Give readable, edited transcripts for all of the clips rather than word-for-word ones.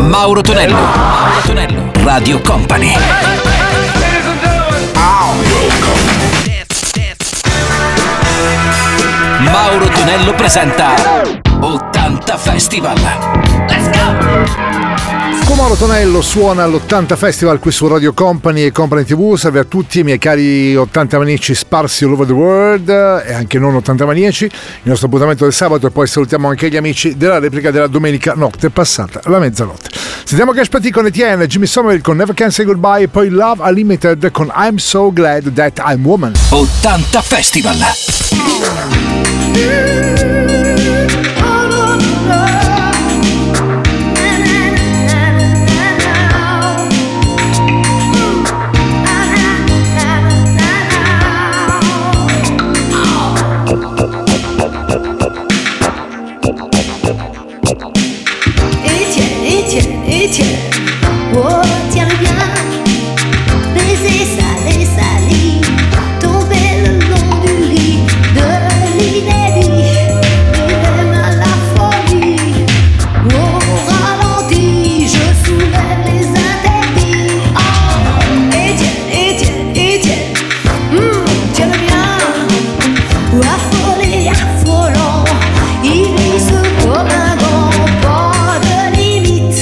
Mauro Tonello. Mauro Tonello. Radio Company. Mauro Tonello presenta 80 Festival. Let's go! Con Mauro Tonello suona all'80 Festival qui su Radio Company e Company TV. Salve a tutti i miei cari 80 maniaci sparsi all over the world e anche non 80 maniaci. Il nostro appuntamento del sabato, e poi salutiamo anche gli amici della replica della domenica notte passata la mezzanotte. Sentiamo Cash Patti con Etienne, Jimmy Somerville con Never Can Say Goodbye e poi Love Unlimited con I'm So Glad That I'm Woman. 80 Festival. Etienne, oh tiens le bien, baiser salé, sali, tomber le long du lit de l'inédit, il à la folie, au ralenti, je soulève les interdits. Oh, Etienne, tiens le bien, affolé, affolant, il glisse comme un grand pas de limite.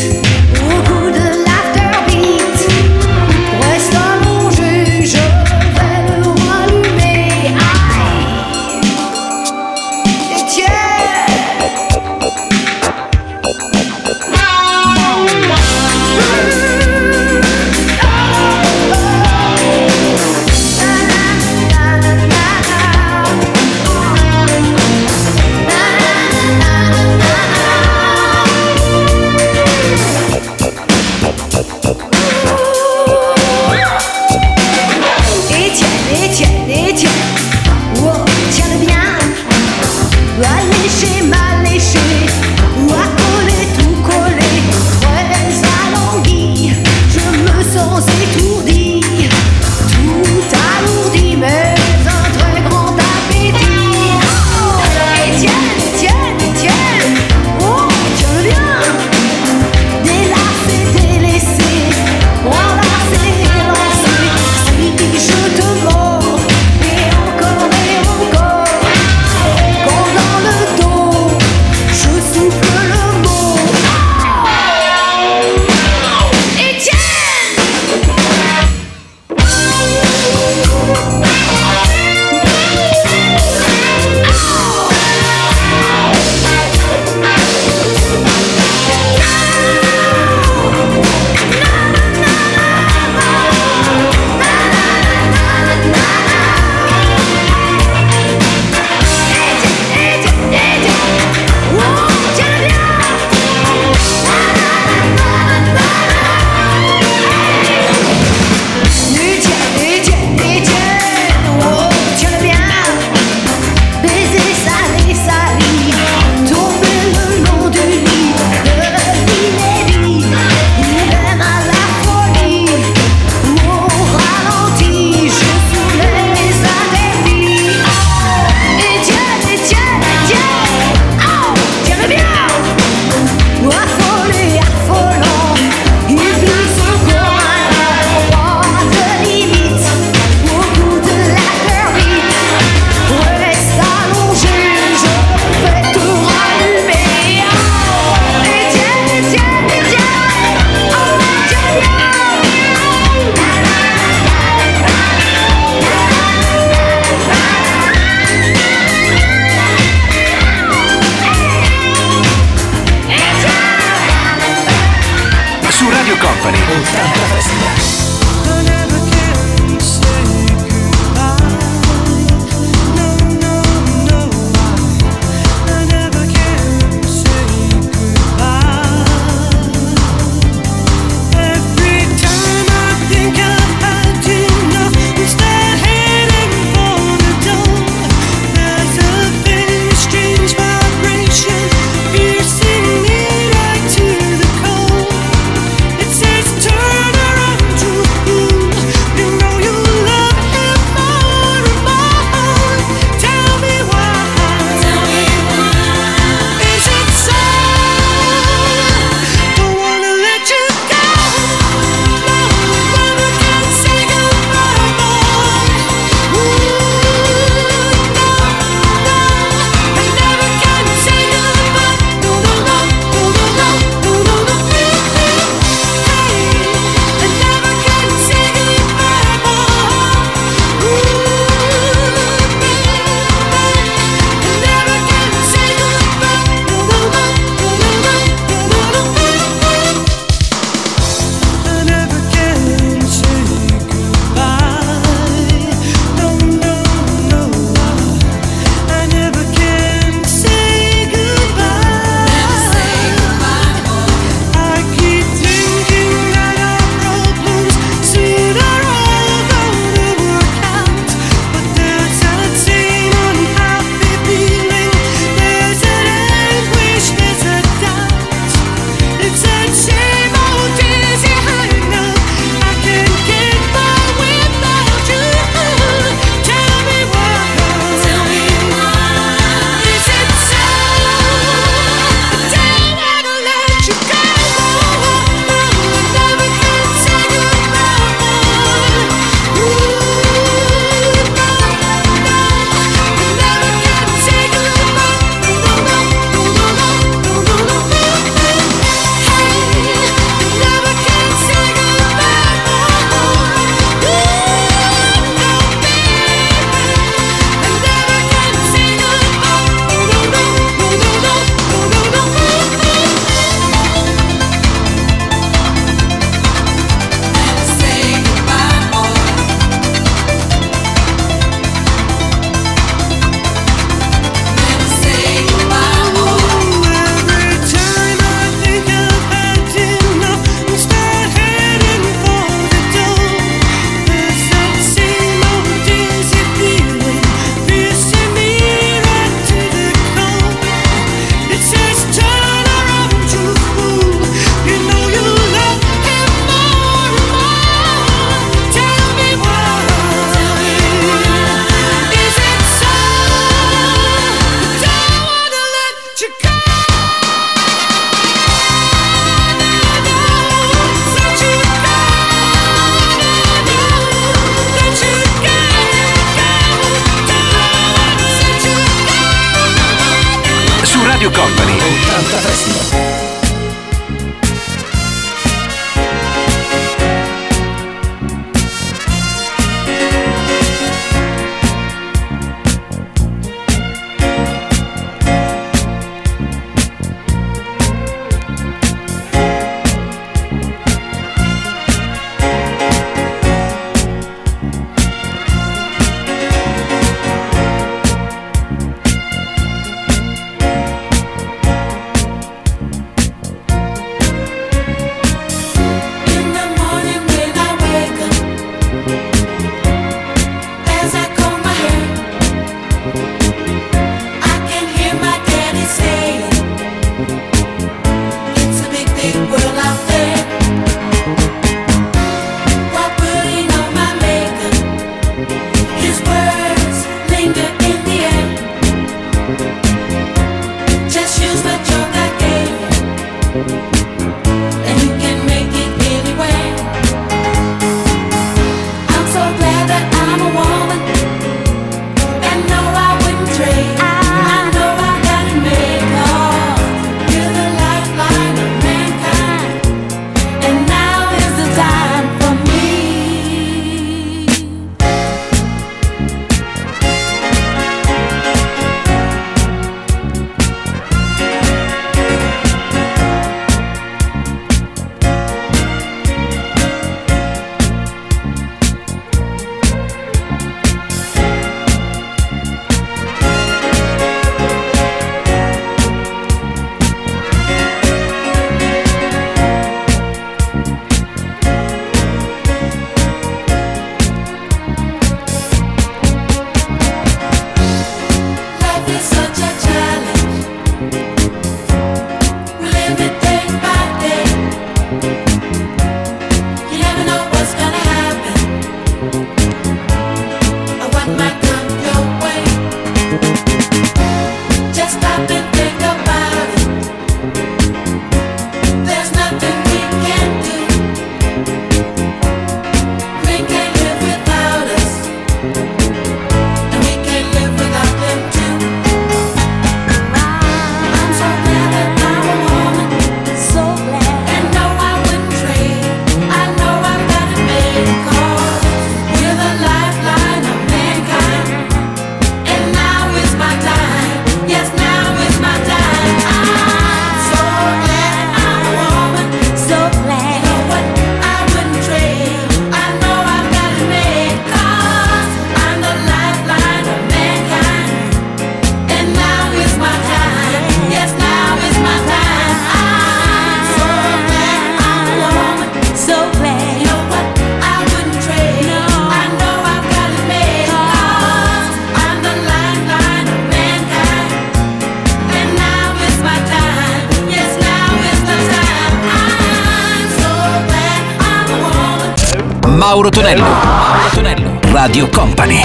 Mauro Tonello. Mauro Tonello. Radio Company.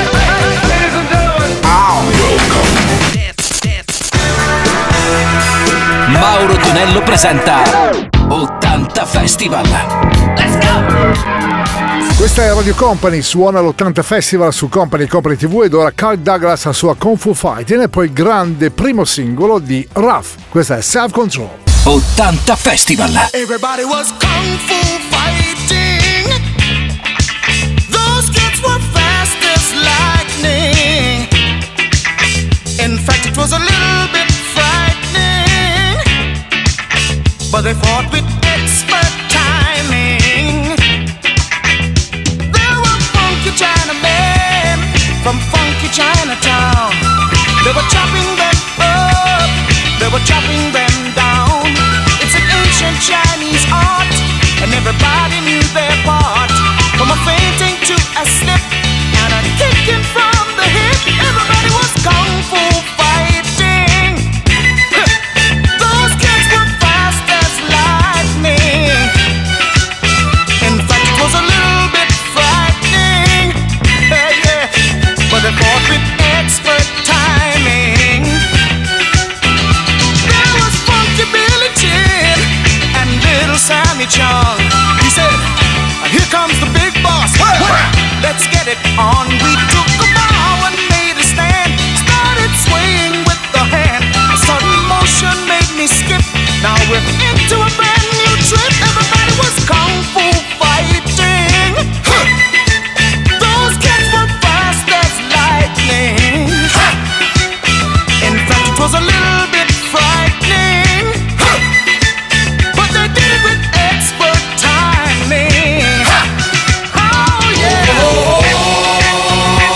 Mauro Tonello presenta 80 Festival. Let's go! Questa è Radio Company, suona l'80 Festival su Company TV ed ora Kirk Douglas la sua Kung Fu Fighting e poi il grande primo singolo di Ruff. Questa è Self Control. 80 Festival. Everybody was Kung Fu fighting. Those kids were fast as lightning. In fact, it was a little bit frightening, but they fought with expert timing. There were funky Chinamen from funky Chinatown. They were chopping them up, they were chopping them down. It's an ancient Chinese art, and everybody knew their part. From a fainting to a slip and a kicking from the hip, everybody was Kung Fu fighting. Those kids were fast as lightning. In fact, it was a little bit frightening, yeah, but they fought with expert timing. There was Funky Billy Chin and Little Sammy Chung. He said, "Here comes the big boss. Let's get it on." We took a bow and made a stand, started swaying with the hand. A sudden motion made me skip. Now we're into a brand new trip. Everybody was Kung Fu fighting. Those kids were fast as lightning. In fact, it was a little bit frightening, but they did it with expert timing. Oh yeah.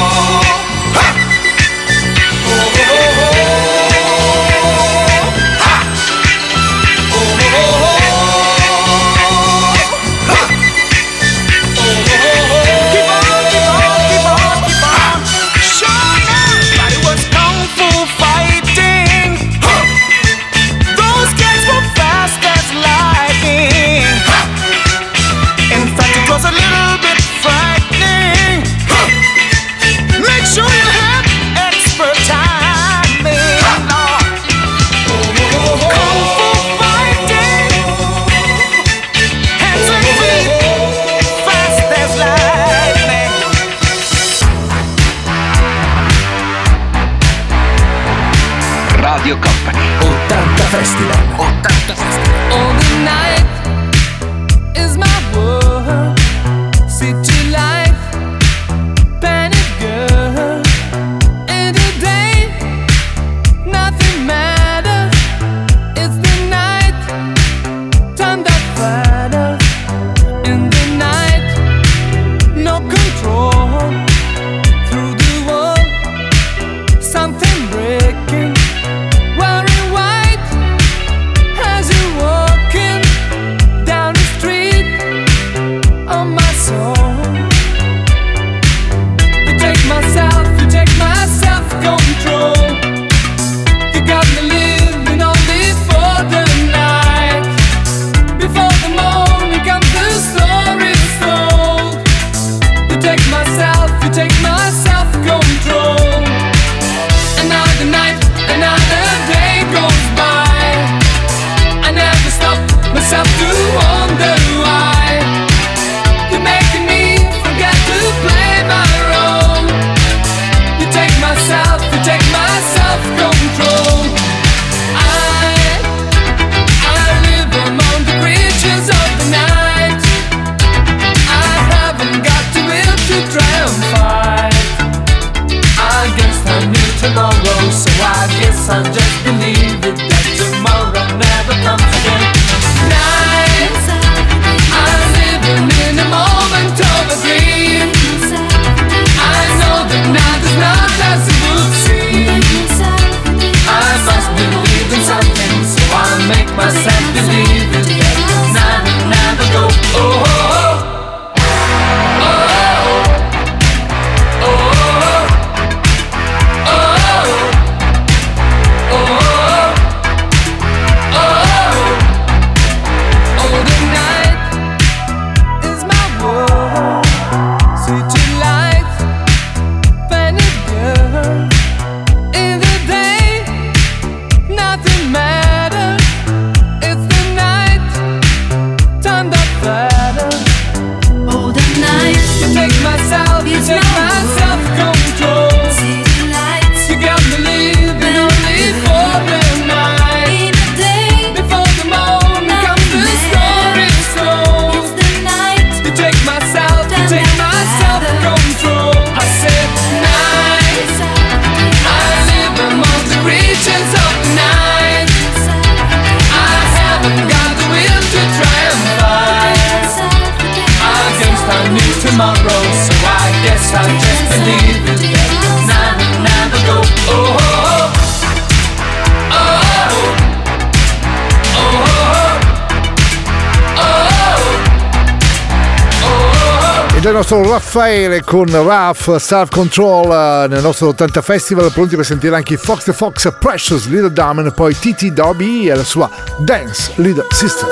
E già il nostro Raffaele con Raf Self Control nel nostro 80 Festival, pronti per sentire anche i Fox the Fox, Precious Little Diamond, poi Titi Dobby e la sua Dance Little Sister.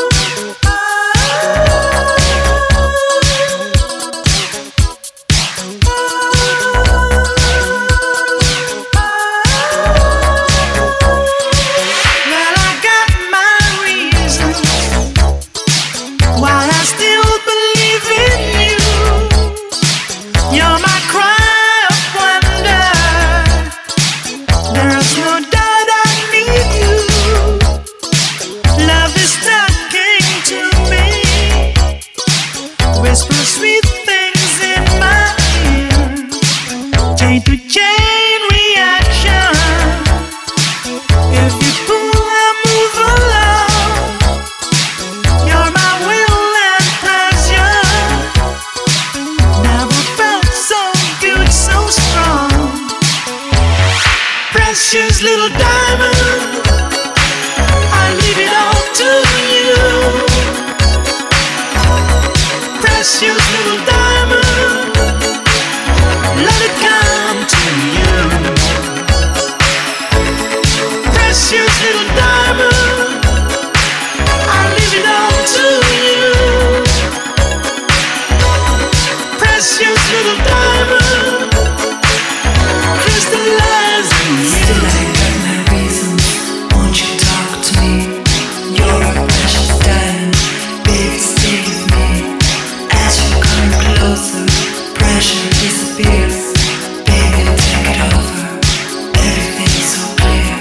Precious little diamond, I leave it all to you. Precious little diamond, let it come to you. Precious little diamond, I leave it all to you. Precious little diamond, crystallize in you. Still I got my reasons, won't you talk to me? You're a precious diamond, baby stay with me. As you come closer, pressure disappears. Baby take it over, everything's so clear.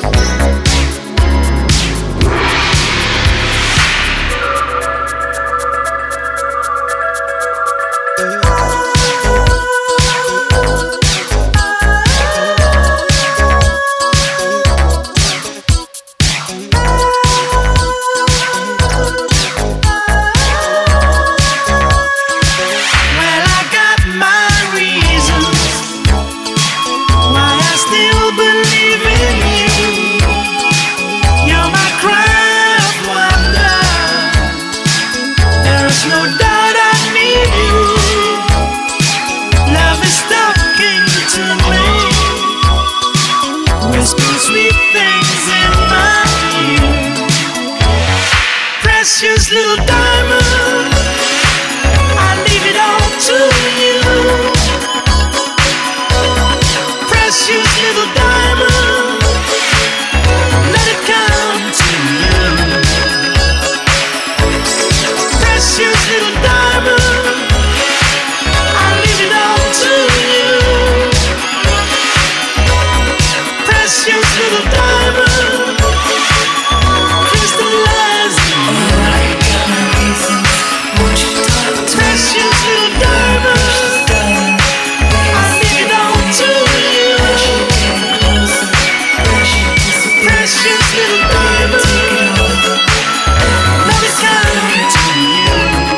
Precious little diamond, I leave it all to you. Precious little diamond, let it come to you. Precious little diamond, I leave it all to you. Precious little diamond, crystallize in you. Precious little diamond, I leave it all to you. Precious little diamond, let it come to you.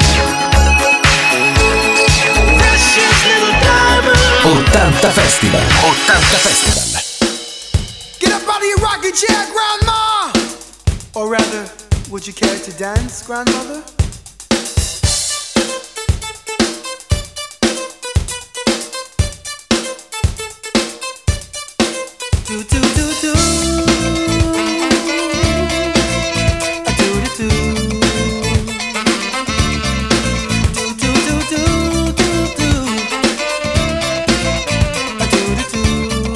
Precious little diamond. 80 Festival. 80 Festival. Get up out of your rocking chair, Grandma! Or rather, would you care to dance, Grandmother? Do do do do. A do do do. Do do do do do do. A do do do.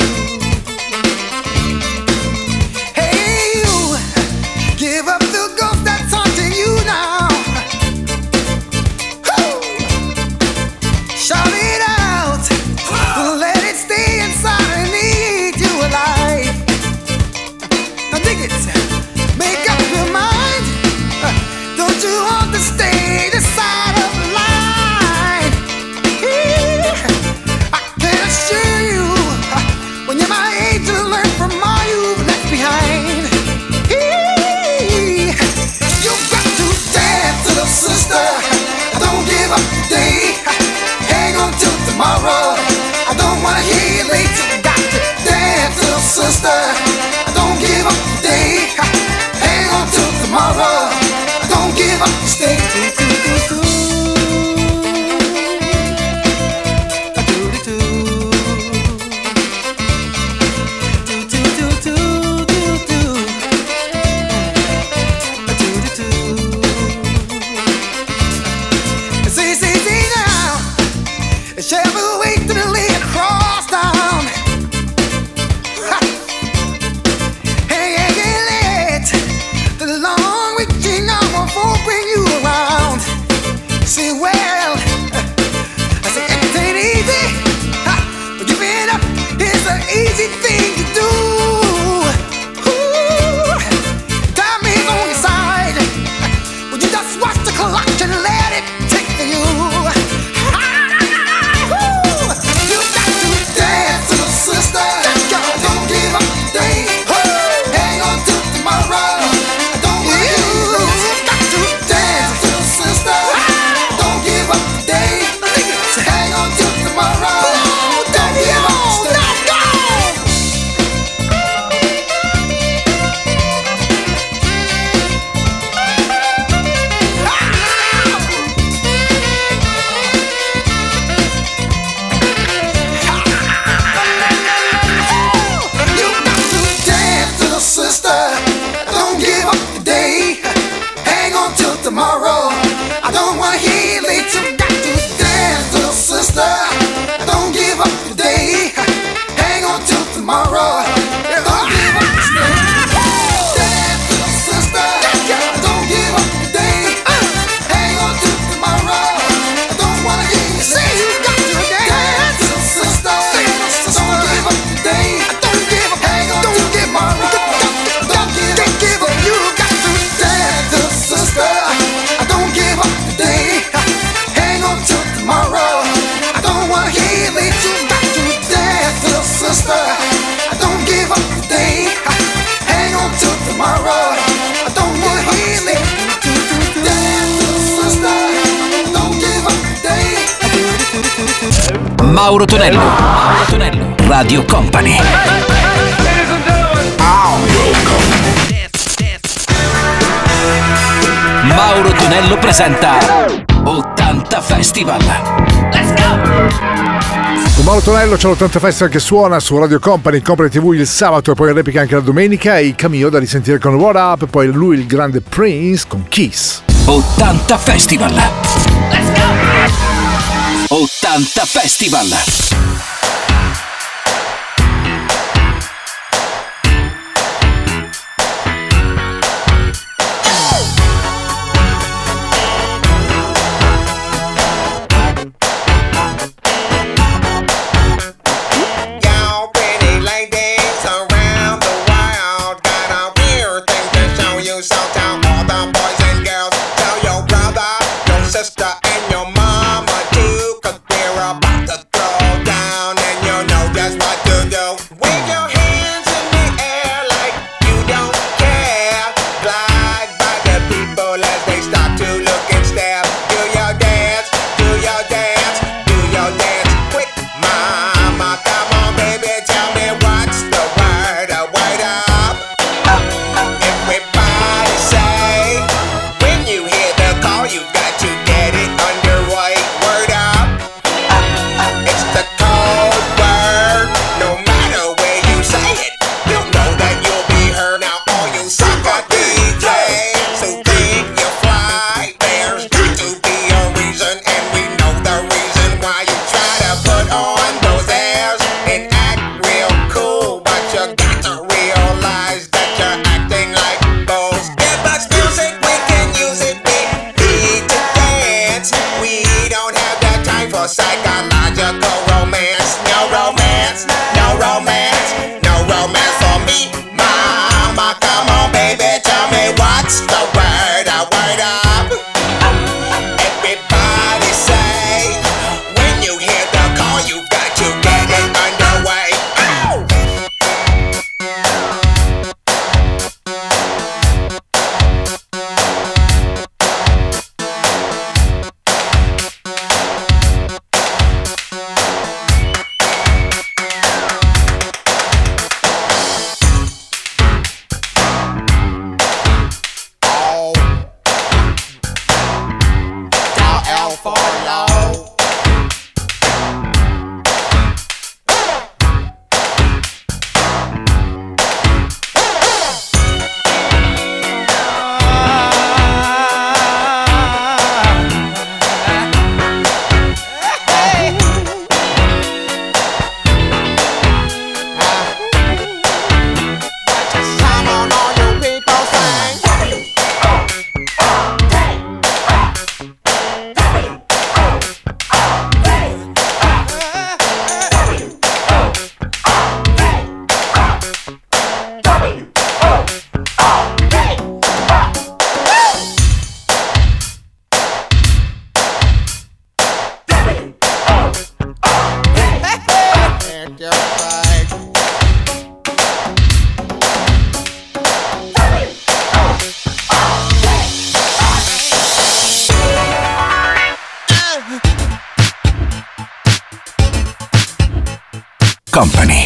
Hey you, give up the ghost that's haunting you now. Woo! Shout it out, let it stay inside and eat you alive. Now dig it, make up your mind. Don't you want to stay this side of the line? I can assure you, when you're my age, you'll learn from all you've left behind. You've got to dance, little sister. Don't give up today. Hang on till tomorrow. I don't wanna hear you late. You got to dance, little sister. Don't give up today. Hang on till tomorrow. Don't give up, stay. Do, do, do, do. clutch and let it take you. You got to dance, little sister. Don't give up today. Hang on till tomorrow. Don't want you got to dance, little sister. Don't give up today. Hang on till tomorrow. Don't give up. Tomorrow, I don't wanna hear late. You got to dance, little sister. Don't give up today. Hang on till tomorrow. Don't give up today. Dance, little sister. Don't give up today. Hang on till tomorrow. I don't wanna hear you say you got to dance, little sister. Don't give up today. Don't give up. Hang on till tomorrow. Don't give up. You got to dance, little sister. Don't give up today. Hang on till tomorrow. I don't wanna hear late. You got to dance, little sister. Don't give up today. Hang on till tomorrow. I don't wanna hear late. Dance, little sister. Don't give up today. Mauro Tonello. Mauro Tonello. Radio Company. Mauro Tonello presenta 80 Festival. Let's go! Con Mauro Tonello c'è l'80 Festival che suona su Radio Company, Company TV il sabato e poi in replica anche la domenica, e i Cameo da risentire con What Up, e poi lui il grande Prince con Kiss. 80 Festival. Let's go! 80 Festival.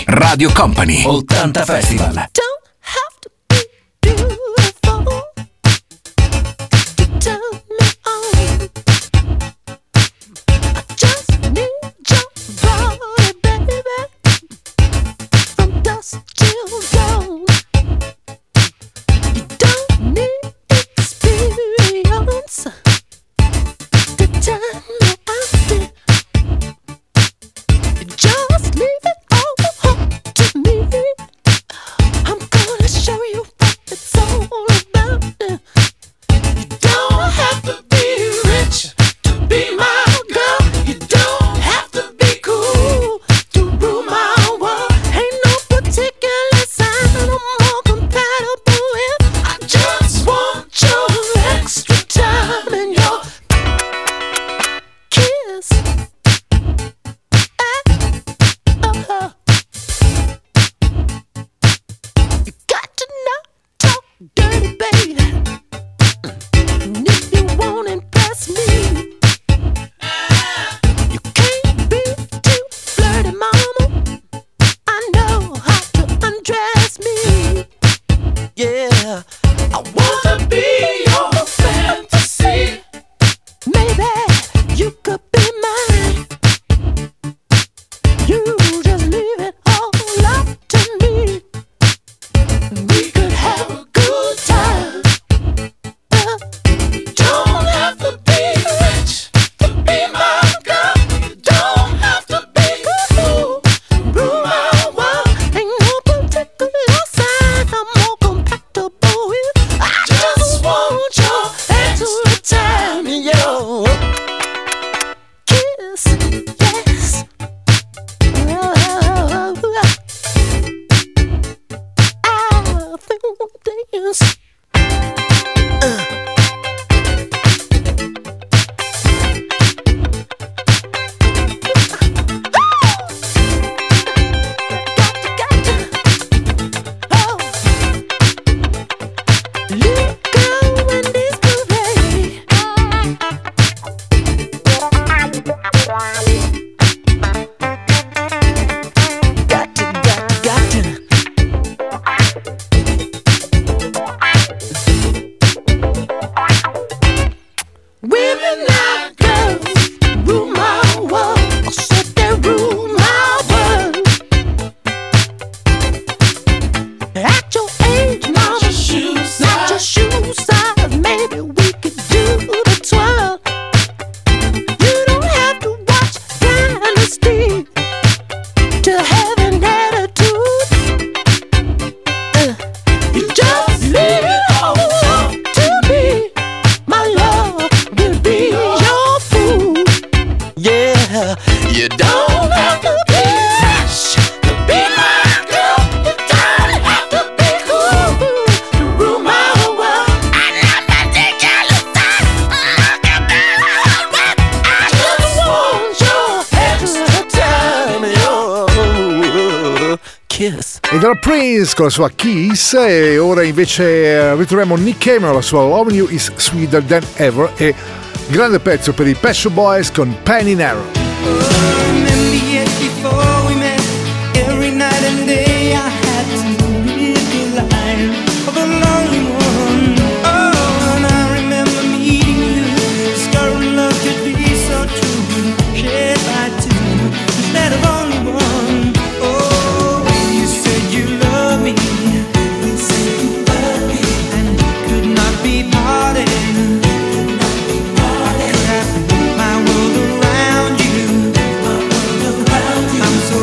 Radio Company 80 Festival. Don't have to be beautiful to turn me on. I just need your body, baby, from dusk till dawn. You don't need experience to turn me on. You just leave it all up to me. I'm gonna show you what it's all about. You don't have to be rich to be my girl. You don't have to be cool to rule my world. Ain't no particular sign I'm more compatible with. I just want your extra time and your kiss. You got to not talk dirty, baby. And if you won't impress me, you can't be too flirty, mama. I know how to undress me. Yeah, I wanna be your fantasy. Maybe you could be mine. You just leave it all up to me. We could have a good time. Don't have to be rich to be my girl. You don't have to be cool, rule my world. Ain't no particular sign I'm more compatible with. I just want your extra time and your kiss, yes. I feel dance. Women like girls rule my world. I said they rule my world. At your age, mama, not your shoe size. Maybe we could do the twirl. You don't have to watch Dynasty to have an attitude. You just leave it all up to me. My love will be your food. Yeah, you don't have to be rich to be my girl. You don't have to be cool to rule my world. I'm not particular sign. I just want your extra time and your kiss. E dalla Prince con la sua Kiss, e ora invece ritroviamo Nick Cave, la sua Loving You Is Sweeter Than Ever, e grande pezzo per i Pet Shop Boys con Penny Narrow. Remember yet before we met, every night and day I had to live the life of a lonely one. Oh, and I remember meeting you, discovering love could be so true, shared by two instead of only one. Oh, when you said you love me, you said you love me, and we could not be parted. My world around you, I'm so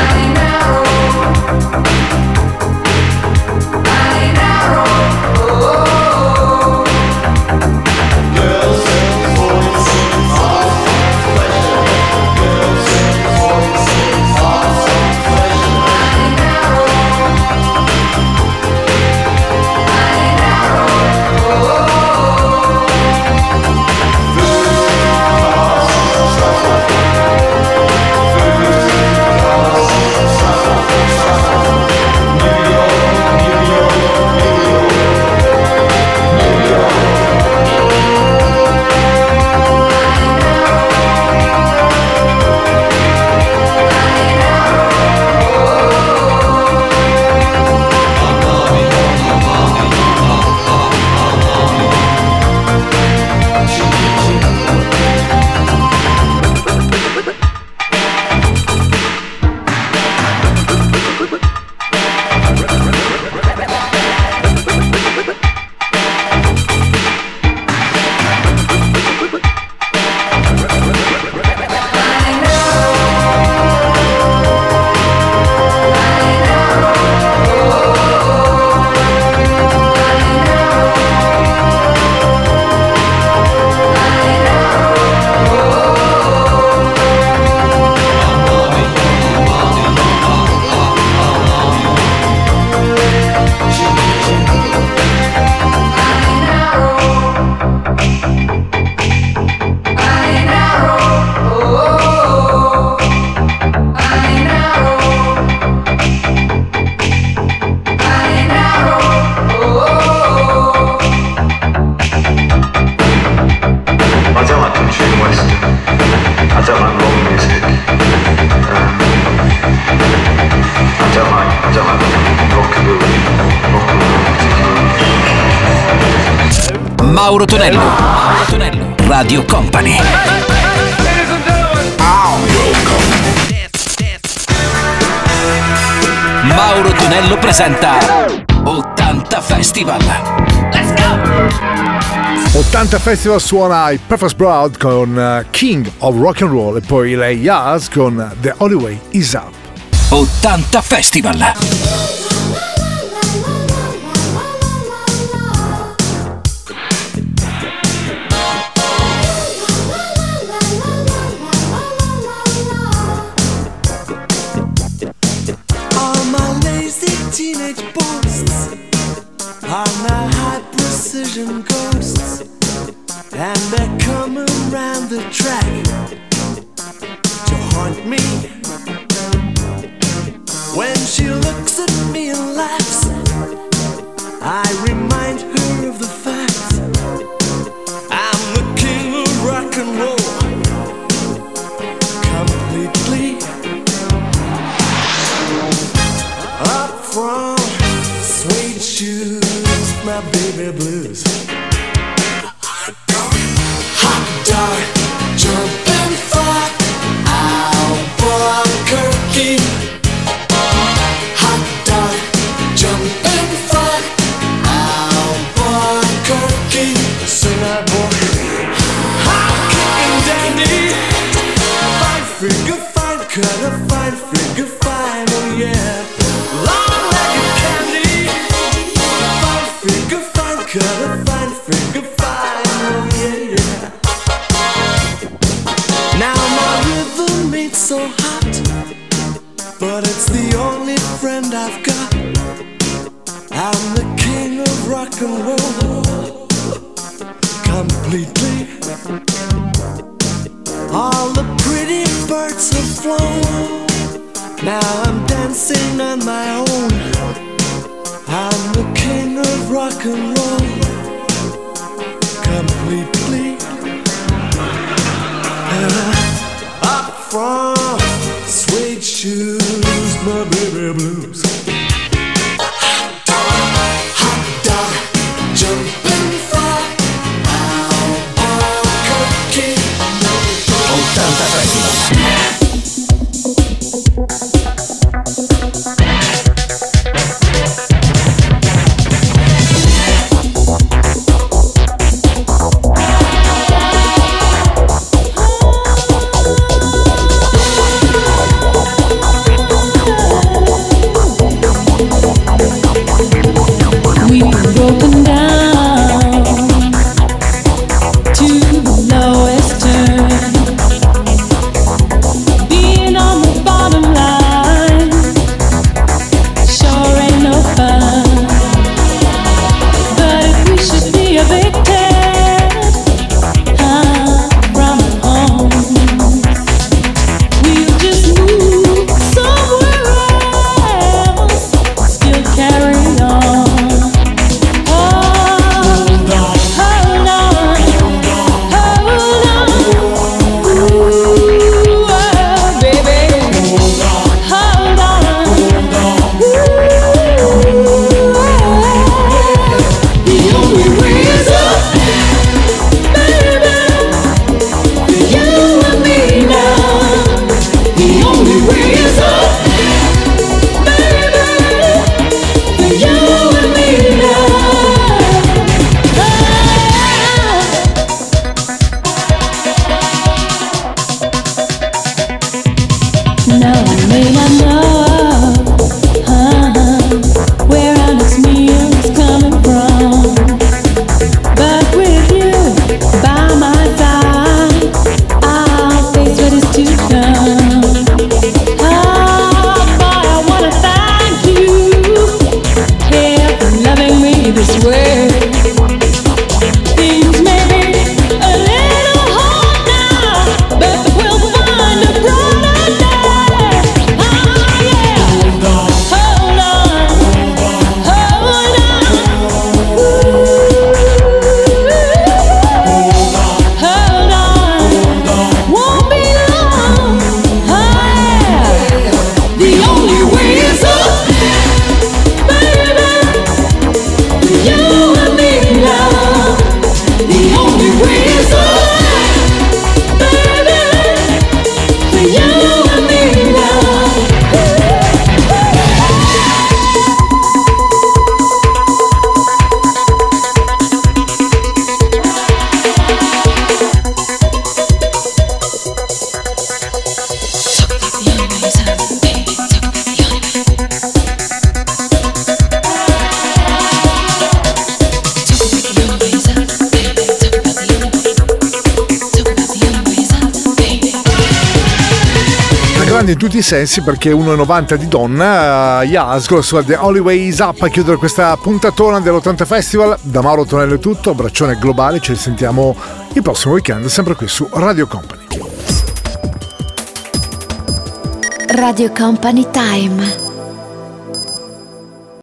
Mauro Tonello. Mauro Tonello. Radio Company. Mauro Tonello presenta 80 Festival. Let's go! 80 Festival suona i Perfect Sprout con King of Rock and Roll e poi lei Yaz con The Only Way Is Up. 80 Festival. Teenage boasts are now high precision ghosts, and they're coming round the track to haunt me. When she looks at me and laughs, I remind her of the fact I'm the king of rock and roll, completely. Up from suede shoes, my baby blues. Hot dog, jumping for Albuquerque. Hot dog, jumping for Albuquerque. Sing that boy. Hot kicking dandy. Fine figure, fine color, fine figure, fine, oh yeah. Color, fine, figure, fine, oh yeah, yeah. Now my rhythm ain't so hot, but it's the only friend I've got. I'm the king of rock and roll, completely. All the pretty birds have flown, now I'm dancing on my own. I'm the king of rock and roll, completely. Up from suede shoes, my baby blues. Hot dog, jumping for Albuquerque. 80 Festival. importante in tutti i sensi perché 1,90 di donna. Yas con la sua The Only Way Is Up a chiudere questa puntatona dell'80 Festival. Da Mauro Tonello è tutto, abbraccione globale, ci sentiamo il prossimo weekend sempre qui su Radio Company. Radio Company Time.